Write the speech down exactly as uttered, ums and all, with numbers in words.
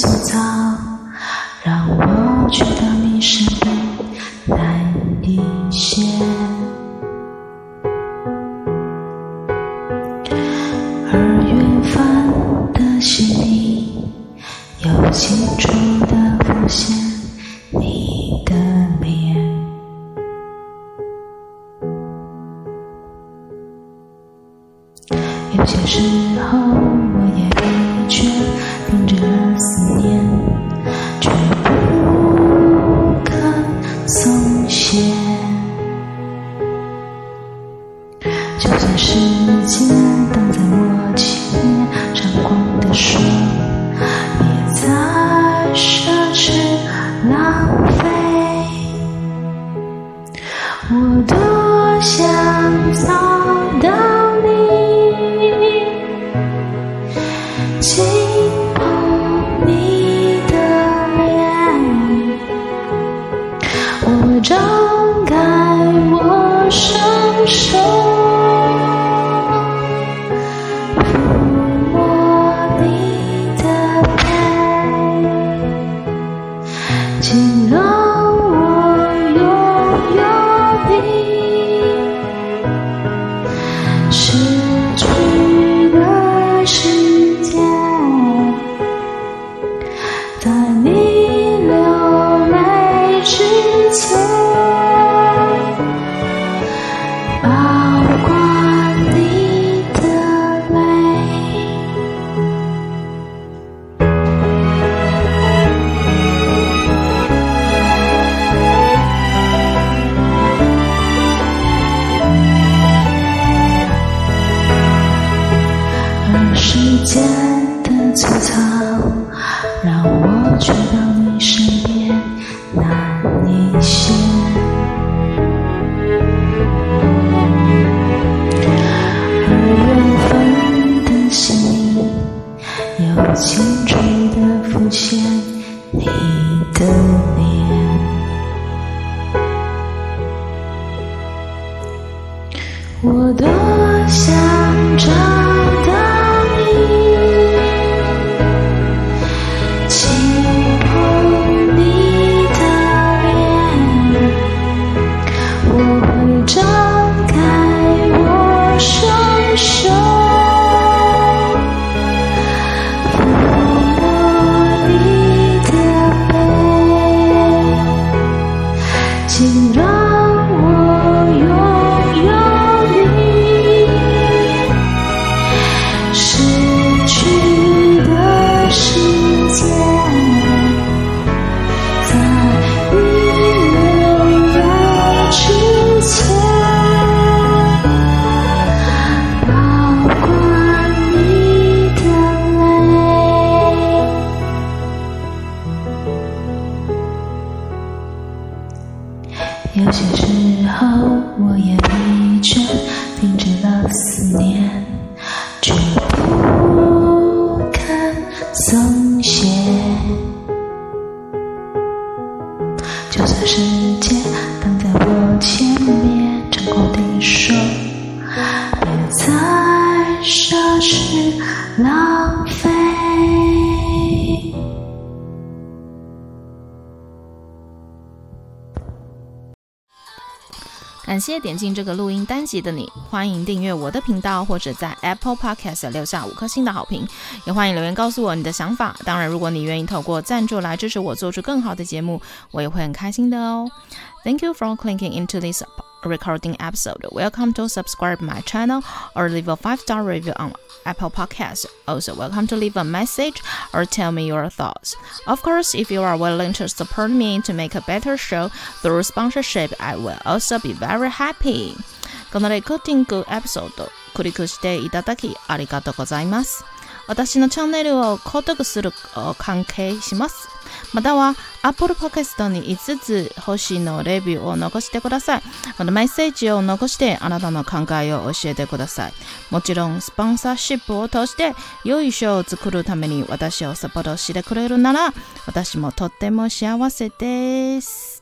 粗糙，讓我去到你身邊難一些。而遠方的心裡，又清楚地浮現你的臉。有些時候我也疲倦，停止了思念，卻不肯鬆懈。就算世界擋在我前面，閃光的說別再奢侈浪費，我多想找到你，輕碰你的臉，我會張開我雙手，撫摸你的背，請讓我擁有你，失去的世界，在你流淚之前，保管你的淚。而世界的粗糙，讓我去到你身邊難一些。而遠方的心裡，又清楚地浮現你的臉。我多想找到你，輕碰你的臉，我會張開我雙手，撫摸你的背，請讓我擁有你，失去的世界，在你流淚之前，保管你的淚。有些時候我也疲倦，停止了思念，卻不肯鬆懈。就算世界擋在我前面，張口地說別再奢侈浪費。 感謝點進這個錄音單集的你，歡迎訂閱我的頻道，或者在 Apple Podcast 留下五顆星的好評，也歡迎留言告訴我你的想法。當然，如果你願意透過贊助來支持我做出更好的節目，我也會很開心的哦。Thank you for clicking into this recording episode. Welcome to subscribe my channel or leave a five-star review on Apple Podcasts. Also, welcome to leave a message or tell me your thoughts. Of course, if you are willing to support me to make a better show through sponsorship, I will also be very happy. このレコーディングエピソード、クリックしていただきありがとうございます。私のチャンネルを購読する関係します。または Apple Podcast にいつつ星のレビューを残してください。またメッセージを残してあなたの考えを教えてください。もちろんスポンサーシップを通して良いショーを作るために私をサポートしてくれるなら私もとっても幸せです。